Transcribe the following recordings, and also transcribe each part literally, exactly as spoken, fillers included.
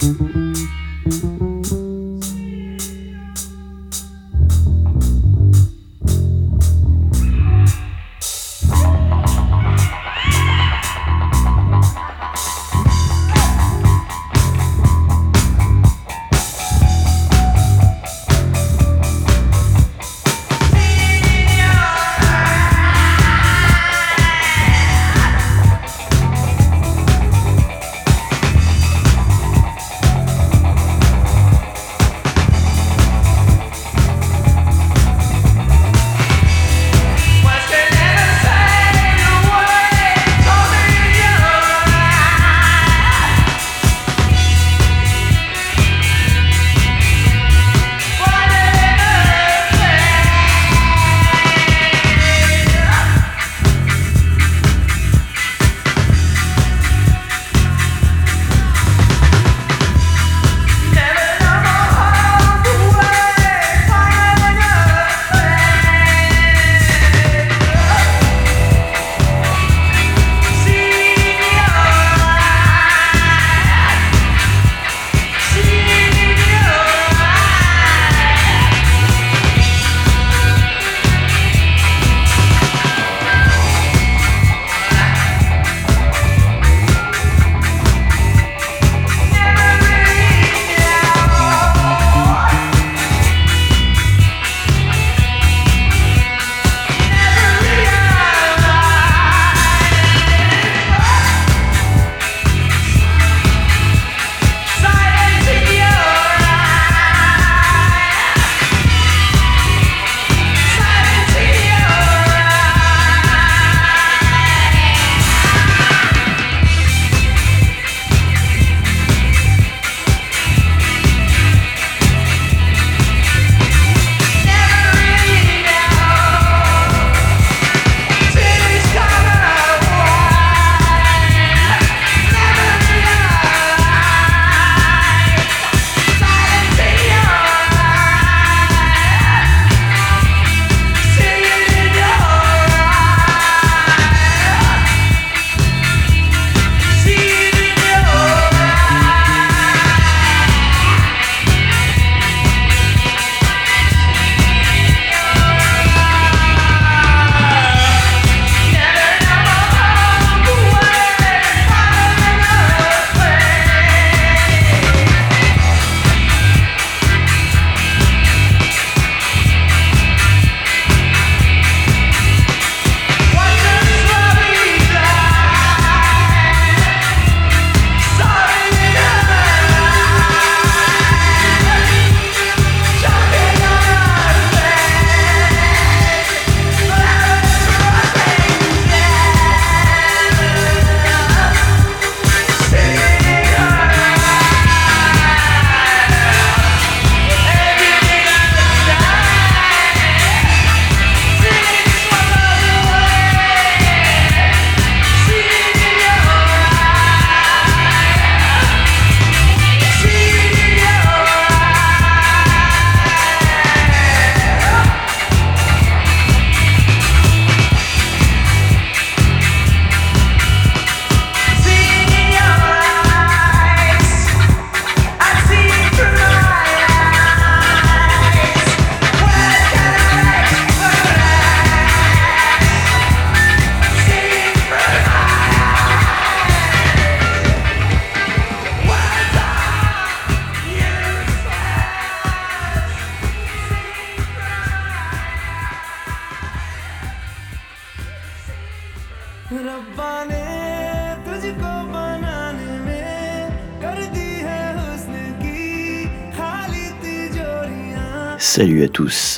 Salut à tous.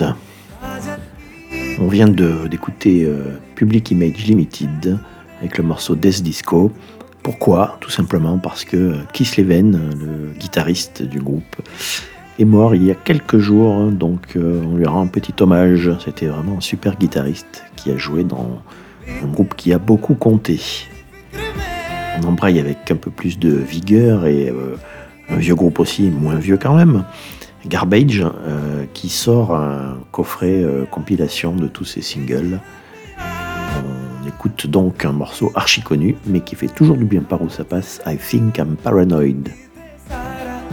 On vient de, d'écouter euh, Public Image Limited avec le morceau Death Disco. Pourquoi ? Tout simplement parce que Keith Leven, le guitariste du groupe, est mort il y a quelques jours, donc euh, on lui rend un petit hommage. C'était vraiment un super guitariste qui a joué dans un groupe qui a beaucoup compté. On embraye avec un peu plus de vigueur et euh, un vieux groupe aussi, moins vieux quand même, Garbage, euh, qui sort un coffret euh, compilation de tous ses singles. On écoute donc un morceau archi connu, mais qui fait toujours du bien par où ça passe, I Think I'm Paranoid.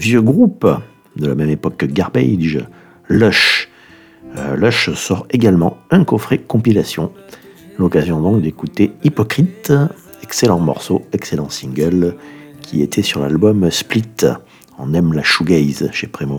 vieux groupe de la même époque que Garbage, Lush. Euh, Lush sort également un coffret compilation. L'occasion donc d'écouter Hypocrite, excellent morceau, excellent single, qui était sur l'album Split. On aime la shoegaze chez Premo.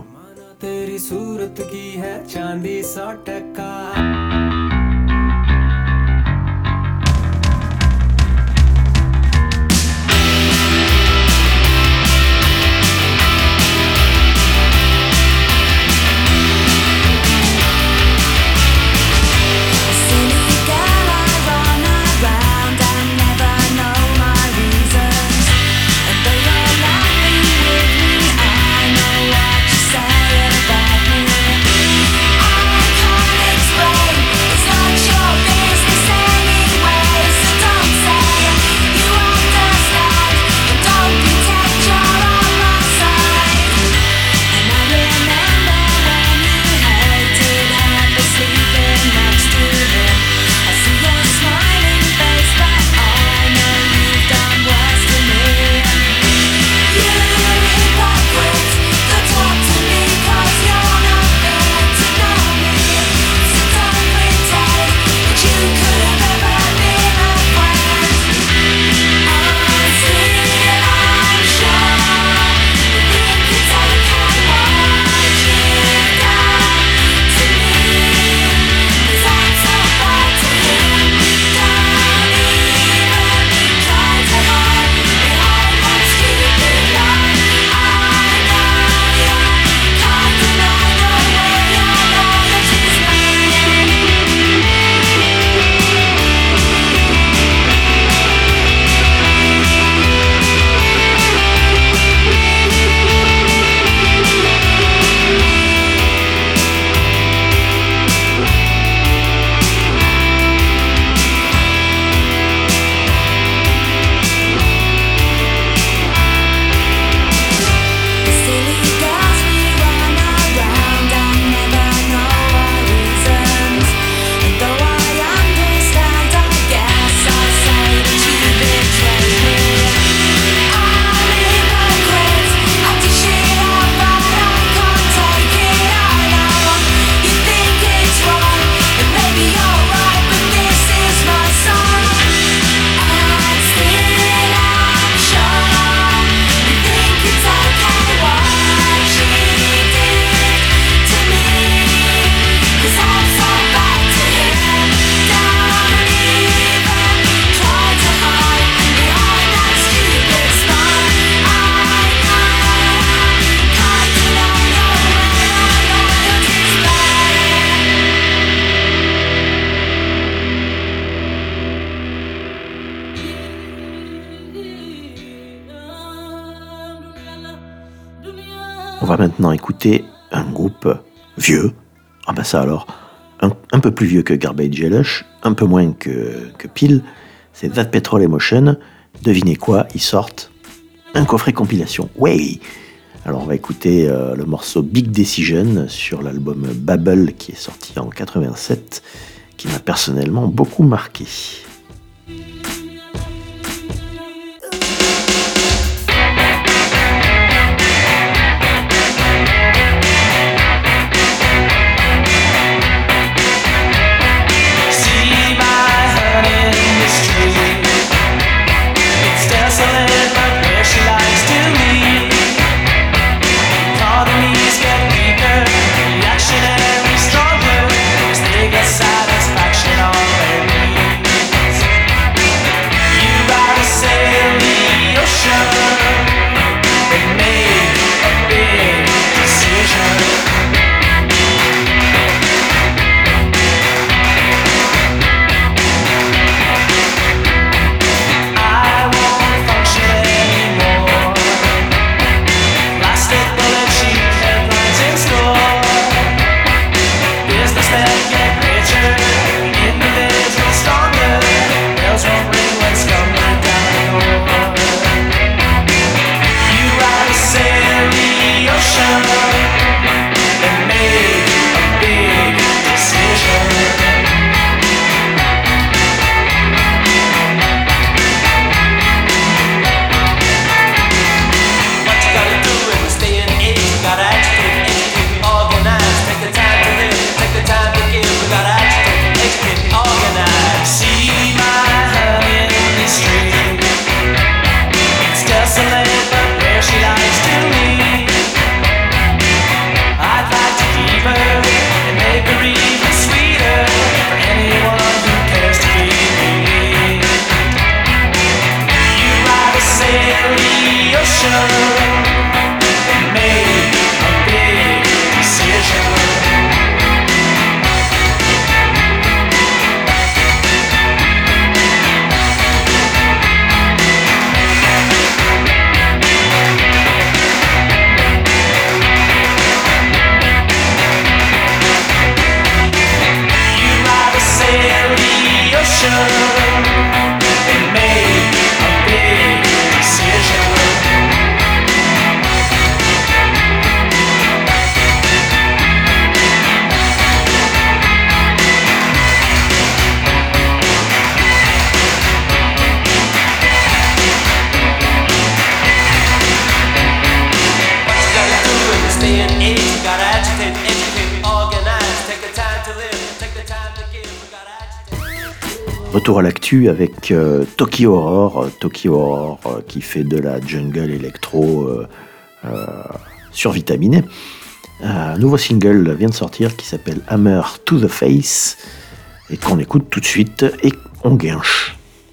On va maintenant écouter un groupe vieux. Ah ben ça alors, un, un peu plus vieux que Garbage et Lush, un peu moins que, que Peel. C'est That Petrol Emotion. Devinez quoi, ils sortent un coffret compilation. Ouais. Alors on va écouter euh, le morceau Big Decision sur l'album Babel qui est sorti en quatre-vingt-sept, qui m'a personnellement beaucoup marqué. Satisfaction already. retour à l'actu avec euh, Tokyo Horror, Tokyo Horror euh, qui fait de la jungle électro euh, euh, survitaminée. Un nouveau single vient de sortir qui s'appelle Hammer to the Face et qu'on écoute tout de suite et on guinche.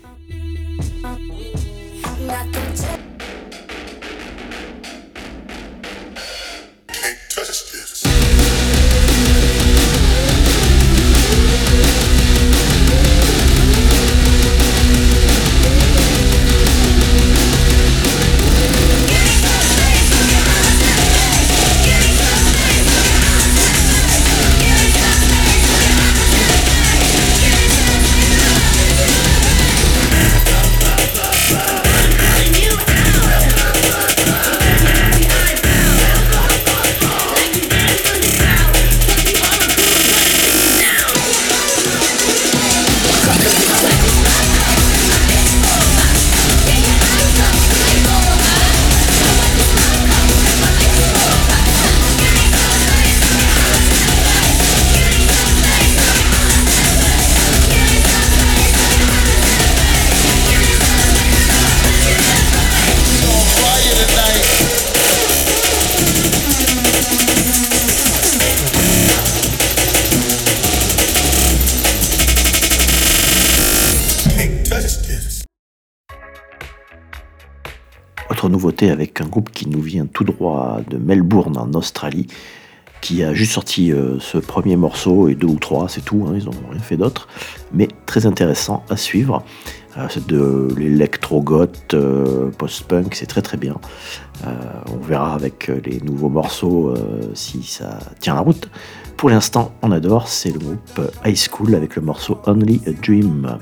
Autre nouveauté avec un groupe qui nous vient tout droit de Melbourne en Australie, qui a juste sorti euh, ce premier morceau et deux ou trois, c'est tout, hein, ils n'ont rien fait d'autre, mais très intéressant à suivre. Euh, c'est de l'électro-goth, euh, post-punk, c'est très très bien. Euh, on verra avec les nouveaux morceaux euh, si ça tient la route. Pour l'instant, on adore, c'est le groupe High School avec le morceau Only a Dream.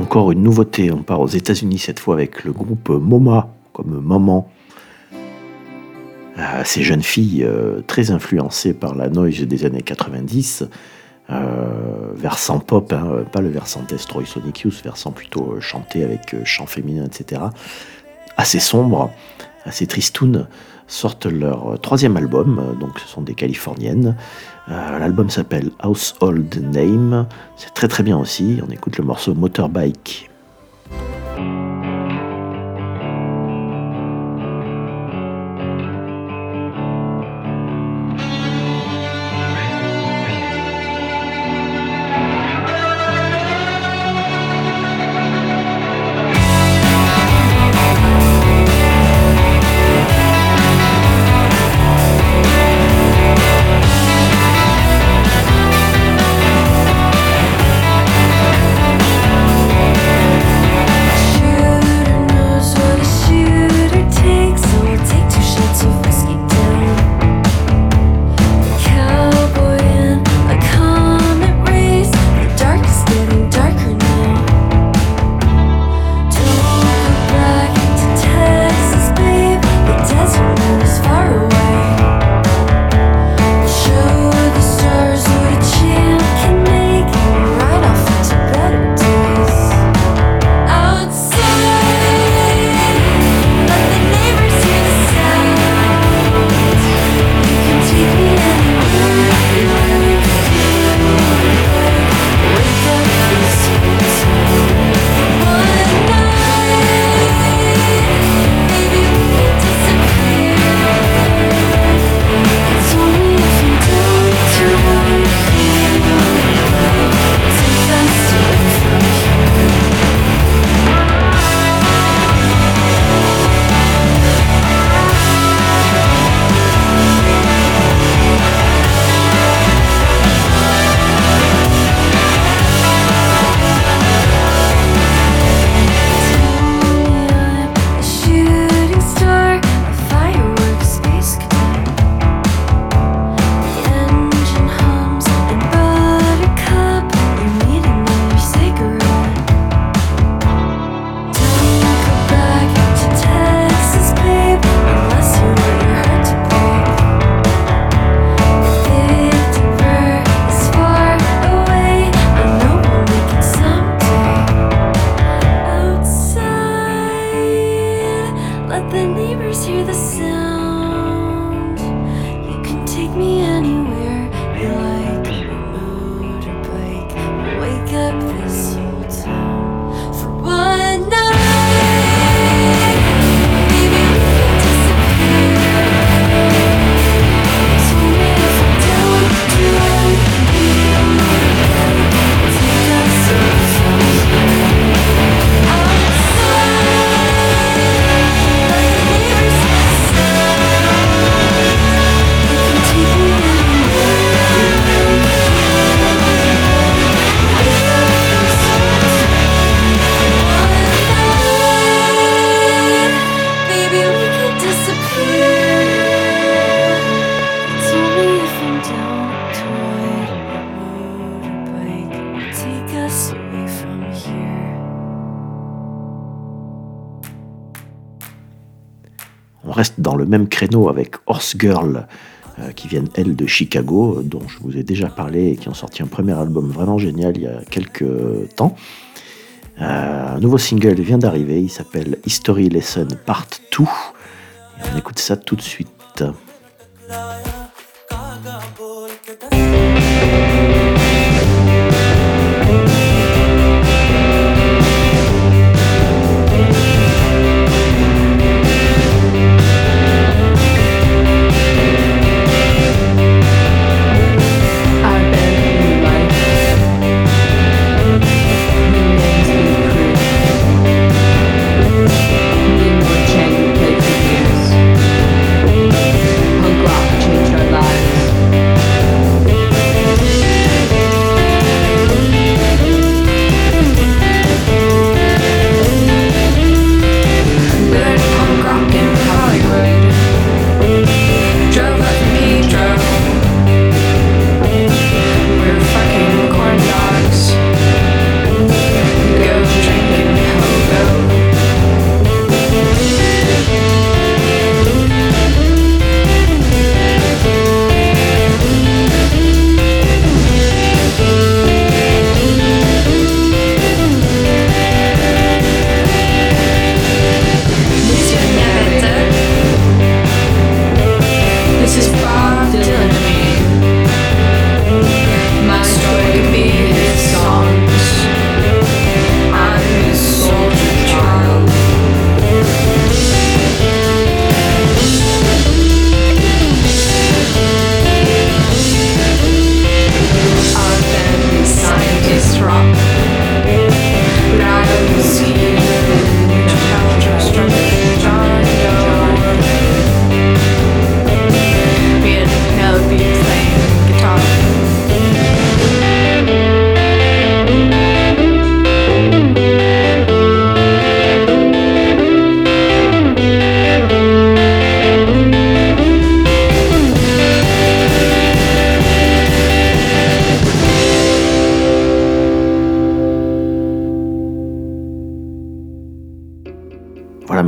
encore une nouveauté, on part aux États-Unis cette fois avec le groupe MoMA, comme Maman. Euh, ces jeunes filles euh, très influencées par la noise des années quatre-vingt-dix, euh, versant pop, hein, pas le versant Destroy Sonic Youth, versant plutôt euh, chanté avec euh, chant féminin, et cetera. Assez sombre, assez tristoun, sortent leur troisième album, donc ce sont des Californiennes. Euh, l'album s'appelle Household Name, c'est très très bien aussi, on écoute le morceau Motorbike. On reste dans le même créneau avec Horse Girl, euh, qui viennent, elles, de Chicago, dont je vous ai déjà parlé et qui ont sorti un premier album vraiment génial il y a quelques temps. Euh, un nouveau single vient d'arriver, il s'appelle History Lesson Part deux. Et on écoute ça tout de suite. Change takes years.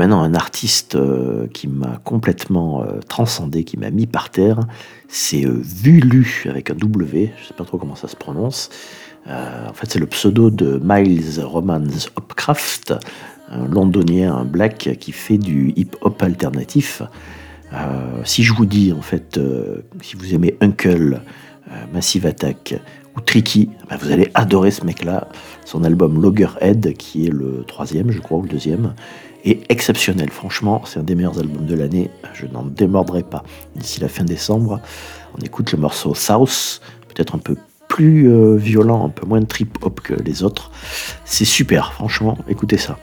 maintenant un artiste euh, qui m'a complètement euh, transcendé, qui m'a mis par terre. C'est euh, Vulu avec un W, je sais pas trop comment ça se prononce. Euh, en fait, c'est le pseudo de Miles Romans Hopcraft, un londonien, un black qui fait du hip-hop alternatif. Euh, si je vous dis, en fait, euh, si vous aimez Uncle, euh, Massive Attack ou Tricky, ben vous allez adorer ce mec-là. Son album Loggerhead, qui est le troisième, je crois, ou le deuxième, est exceptionnel. Franchement, c'est un des meilleurs albums de l'année. Je n'en démordrai pas. D'ici la fin décembre, on écoute le morceau South, peut-être un peu plus euh, violent, un peu moins trip-hop que les autres. C'est super, franchement, écoutez ça.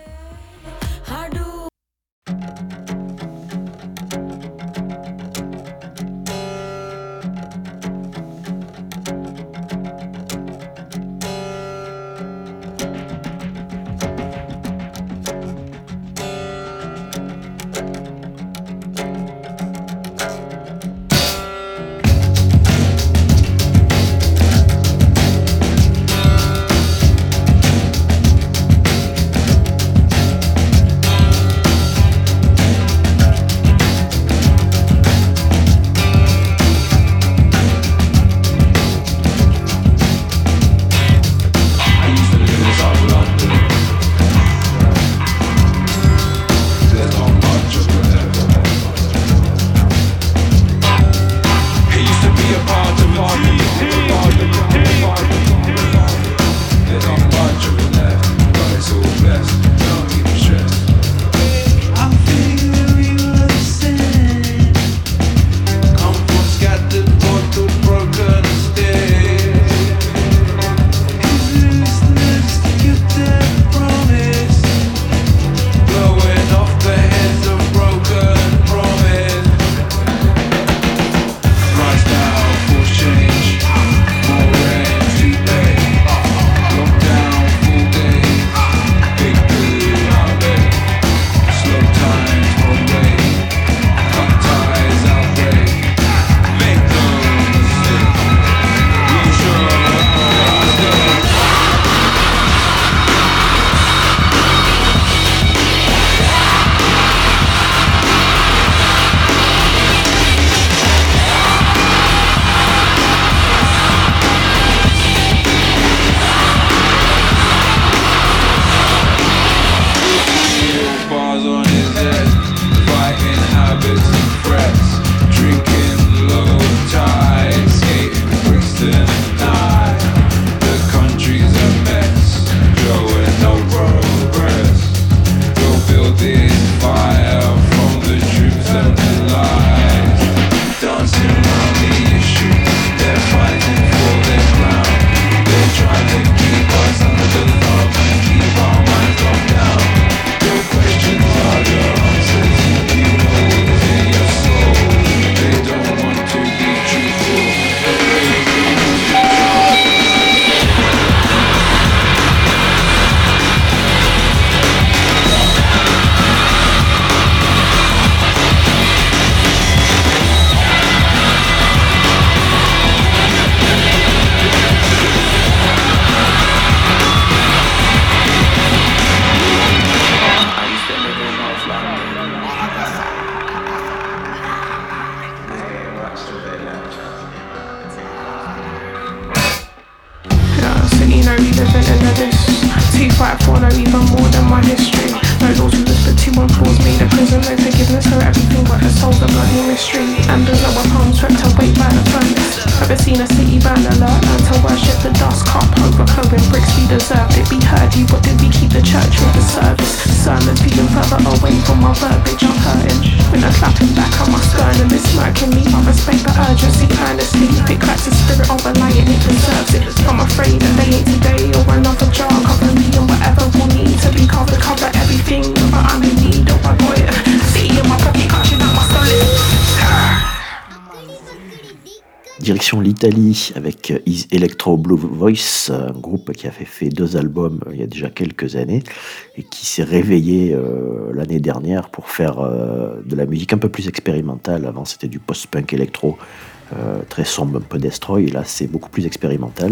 Direction l'Italie avec His Electro Blue Voice, un groupe qui avait fait deux albums il y a déjà quelques années et qui s'est réveillé euh, l'année dernière pour faire euh, de la musique un peu plus expérimentale. Avant c'était du post-punk électro euh, très sombre, un peu destroy, et là c'est beaucoup plus expérimental.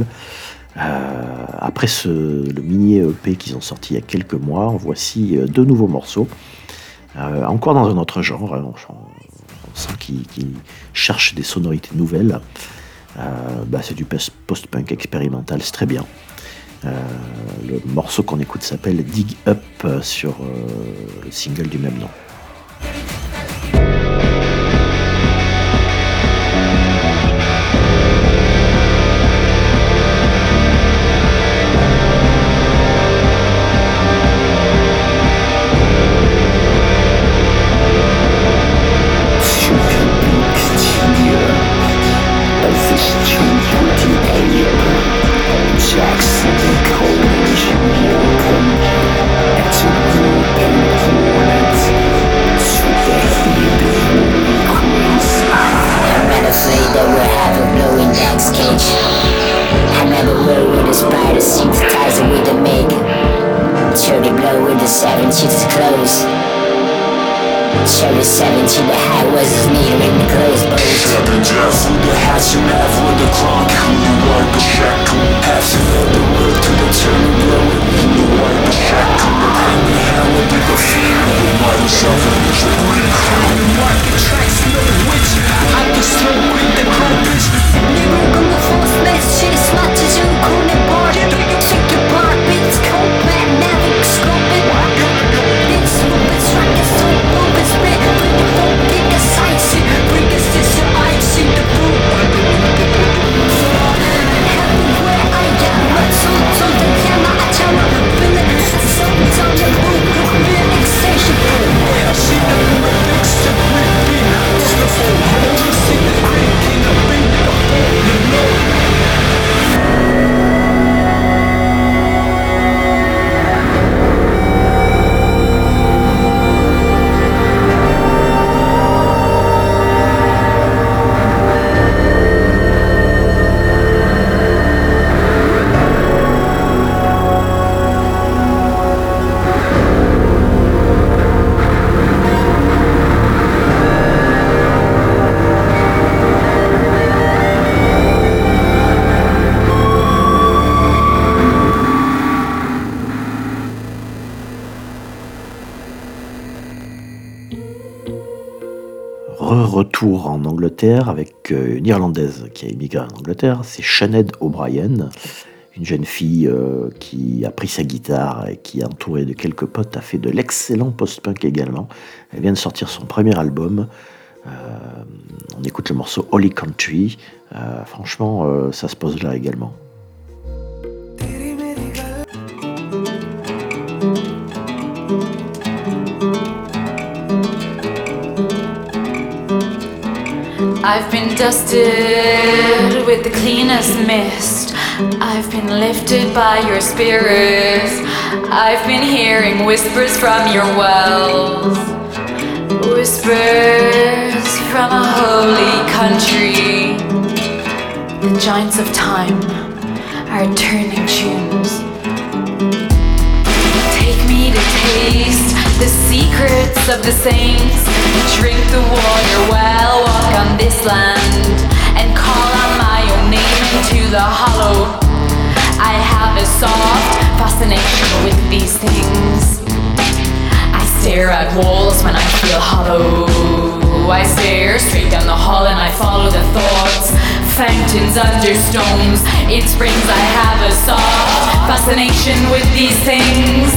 Euh, après ce, le mini E P qu'ils ont sorti il y a quelques mois, voici euh, deux nouveaux morceaux. Euh, encore dans un autre genre, on, on sent qu'il, qu'il cherche des sonorités nouvelles. Euh, bah, c'est du post-punk expérimental, c'est très bien. Euh, le morceau qu'on écoute s'appelle Dig Up sur euh, le single du même nom. Retour en Angleterre avec une Irlandaise qui a immigré en Angleterre, c'est Sinead O'Brien, une jeune fille euh, qui a pris sa guitare et qui, entourée de quelques potes, a fait de l'excellent post-punk également. Elle vient de sortir son premier album. Euh, on écoute le morceau Holy Country. Euh, franchement, euh, ça se pose là également. I've been dusted with the cleanest mist. I've been lifted by your spirit. I've been hearing whispers from your wells. Whispers from a holy country. The giants of time are turning tunes. Take me to taste the secrets of the saints. Drink the water well, walk on this land, and call on my own name into the hollow. I have a soft fascination with these things. I stare at walls when I feel hollow. I stare straight down the hall and I follow the thoughts. Fountains under stones. In springs I have a soft fascination with these things.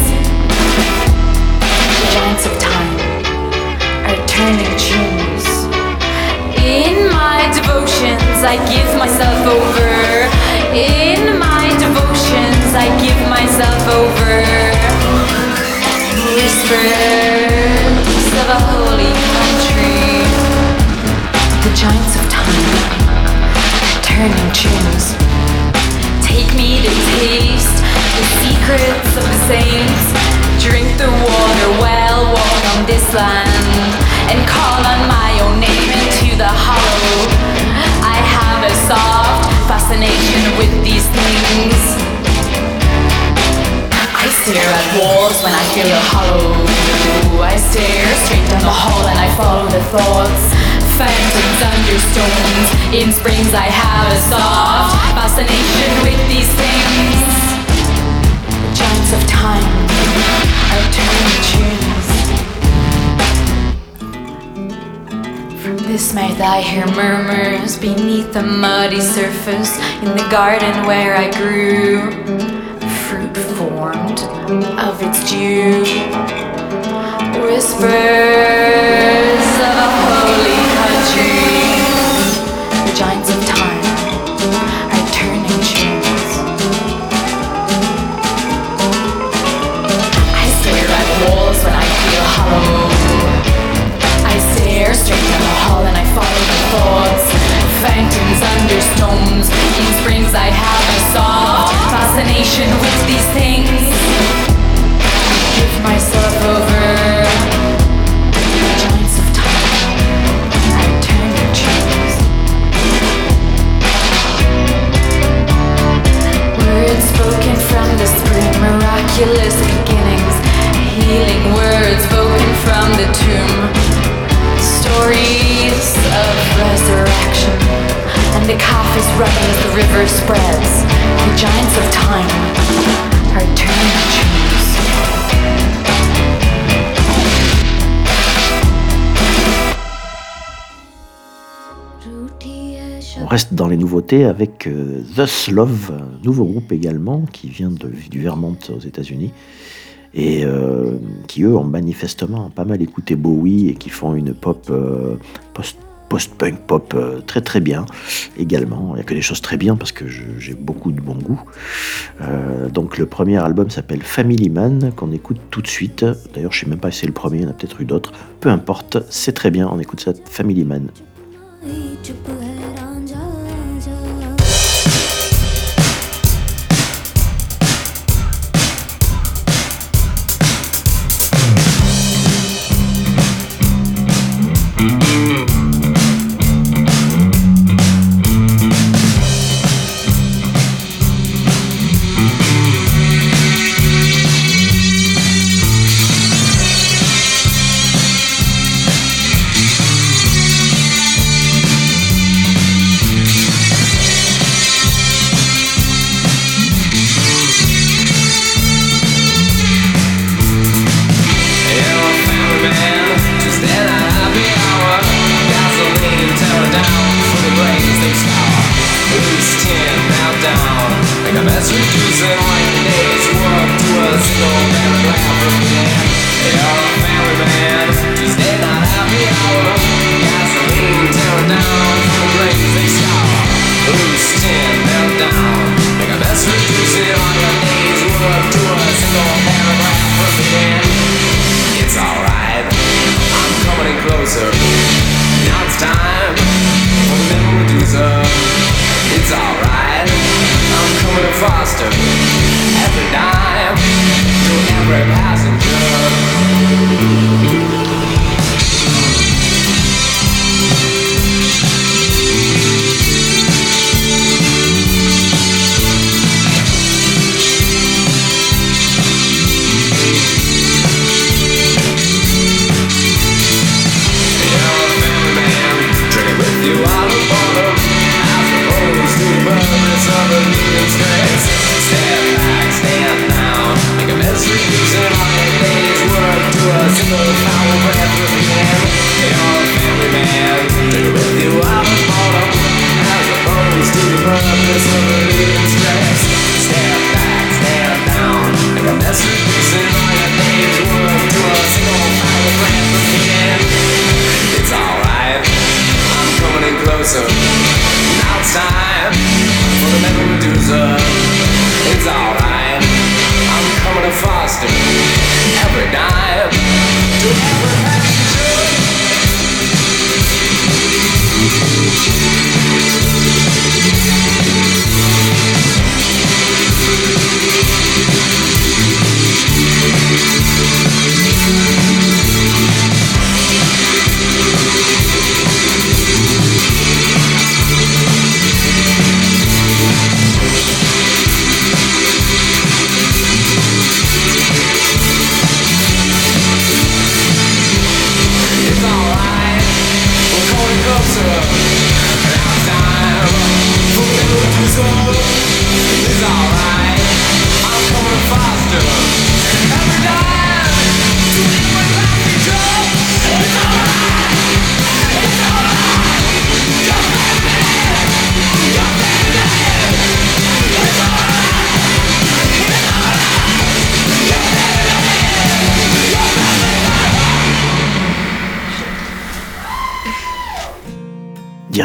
The giants of time are turning tunes. In my devotions I give myself over. In my devotions I give myself over. Whispers of a holy country. The giants of time are turning tunes. Take me to taste the secrets of the saints. Drink the water well, walk on this land, and call on my own name into the hollow. I have a soft fascination with these things. I stare at walls when I feel hollow. I stare straight down the hall and I follow the thoughts. Fountains under stones. In springs I have a soft fascination with these things. The giants of time are turning tunes. This night I hear murmurs beneath the muddy surface in the garden where I grew. Fruit formed of its dew. Whispers of a holy country. The giants of time are turning tunes. I stare at walls when I feel hollow. I stare straight down the hall and I follow my thoughts. Phantoms under stones. In springs I have a soft fascination with these things. Give myself over. Giants of time, I turn to trees. Words spoken from the spring, miraculous beginnings. Healing words spoken from the tomb. Stories of resurrection. And the calf is running as the river spreads. The giants of time are turning to trees. On reste dans les nouveautés avec euh, Thus Love, un nouveau groupe également qui vient de, du Vermont aux États-Unis et euh, qui eux ont manifestement pas mal écouté Bowie et qui font une pop euh, post, post-punk pop euh, très très bien également. Il n'y a que des choses très bien parce que je, j'ai beaucoup de bon goût. Euh, donc le premier album s'appelle Family Man qu'on écoute tout de suite. D'ailleurs je ne sais même pas si c'est le premier, il y en a peut-être eu d'autres. Peu importe, c'est très bien, on écoute ça, Family Man.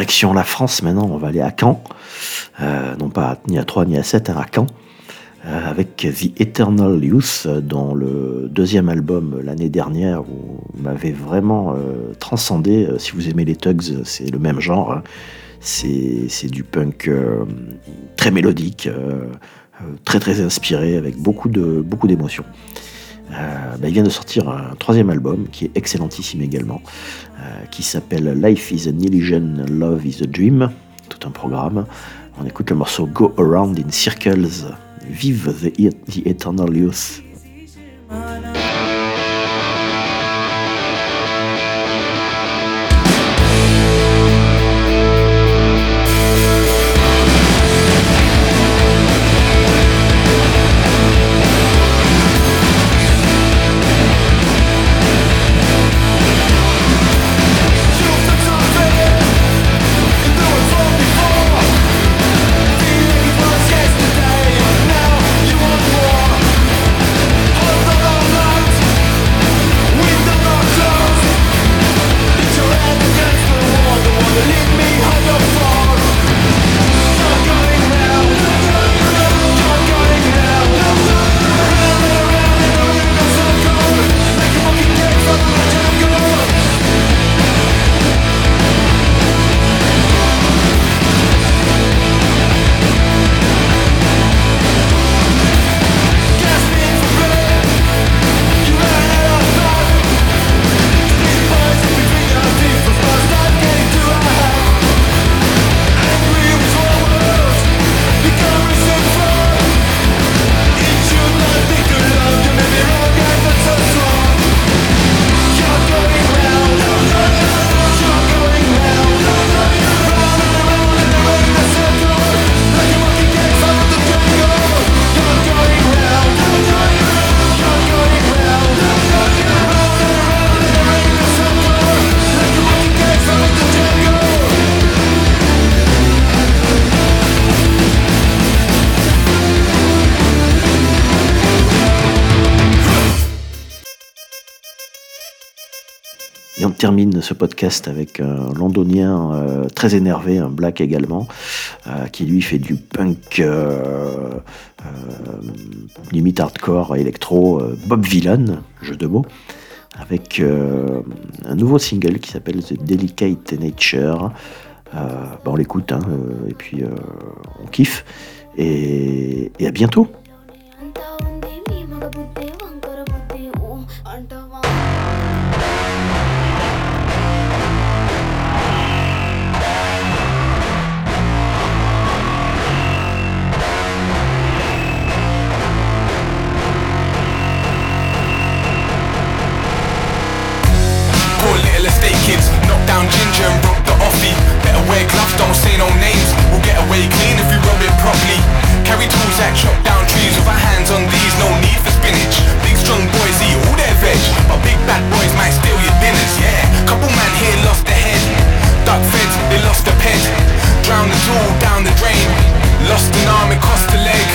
direction la France maintenant, on va aller à Caen, euh, non pas ni à Troyes ni à Sète, hein, à Caen, euh, avec The Eternal Youth, dont le deuxième album l'année dernière où m'avait vraiment euh, transcendé. Si vous aimez les Tugs, c'est le même genre, hein. c'est, c'est du punk euh, très mélodique, euh, très très inspiré, avec beaucoup, de, beaucoup d'émotions. Euh, bah, il vient de sortir un troisième album qui est excellentissime également, euh, qui s'appelle Life is an Illusion, Love is a Dream, tout un programme. On écoute le morceau Go Around in Circles. Vive the, the Eternal Youth. Et on termine ce podcast avec un londonien euh, très énervé, un black également, euh, qui lui fait du punk euh, euh, limite hardcore électro, euh, Bob Vylan, jeu de mots, avec euh, un nouveau single qui s'appelle The Delicate Nature. Euh, bah on l'écoute, hein, euh, et puis euh, on kiffe, et, et à bientôt. Kids, knock down ginger and broke the offie. Better wear gloves, don't say no names. We'll get away clean if we rub it properly. Carry tools that chop down trees with our hands on these, no need for spinach. Big strong boys eat all their veg, but big bad boys might steal your dinners, yeah. Couple man here lost their head. Duck fed, they lost a pet. Drowned the tool down the drain. Lost an arm, it cost a leg.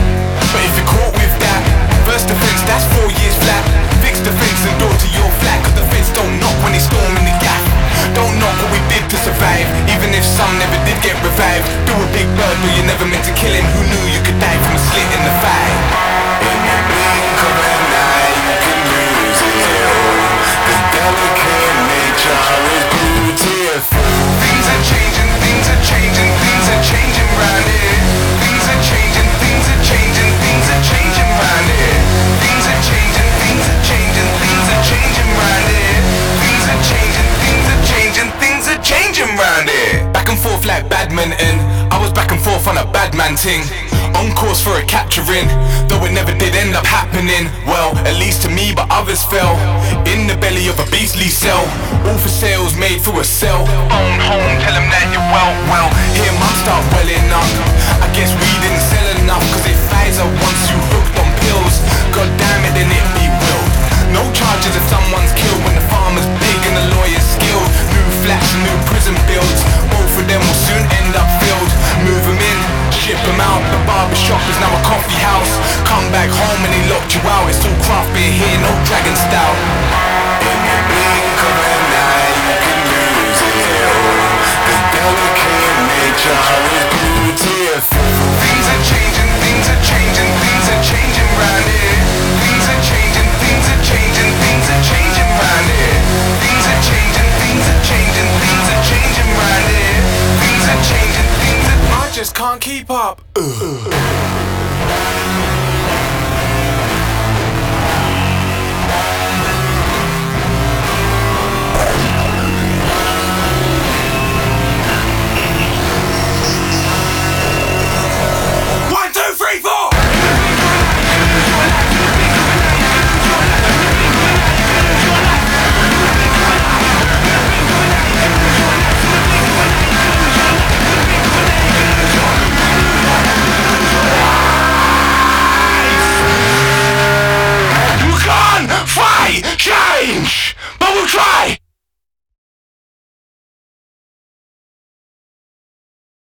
But if you're caught with that, first offence, that's four years flat. Fix the fence and door to your flat, cause the fence don't knock when they storm in the gap. Don't knock what we did to survive, even if some never did get revived. Do a big bird, but you never meant to kill him. Who knew you could die from a slit in the thigh? In the blink of an eye, you can lose it all. The delicate nature is beautiful. Things are changing, things are changing, things are changing round here. Things are changing, things are changing, things are changing round here. Things are changing, things are changing, things are changing round here. Things are changing, things are changing, things are changing round here. Back and forth like badminton, I was back and forth on a bad man ting. On course for a capturing, though it never did end up happening. Well, at least to me, but others fell in the belly of a beastly cell. All for sales made through a cell. Own home, tell them that you're well, well. Hear mum start welling up. I guess we didn't sell enough, cause it Pfizer once you hooked on pills. God damn it, then it be willed. No charges if someone's killed when the farmer's big and the lawyer's skilled. New flats and new prison builds, both of them will soon end up filled. Move them in, ship them out. The barber shop is now a coffee house. Come back home and they locked you out. It's all craft beer here, no dragon stout. In the blink of an eye, you can lose it all. The devil Things are changing, things are changing, things are changing round here. Things are changing, things are changing, things are changing round here. Things are changing, things are changing, things are changing round here. Things are changing, things are... I just can't keep up. Ugh.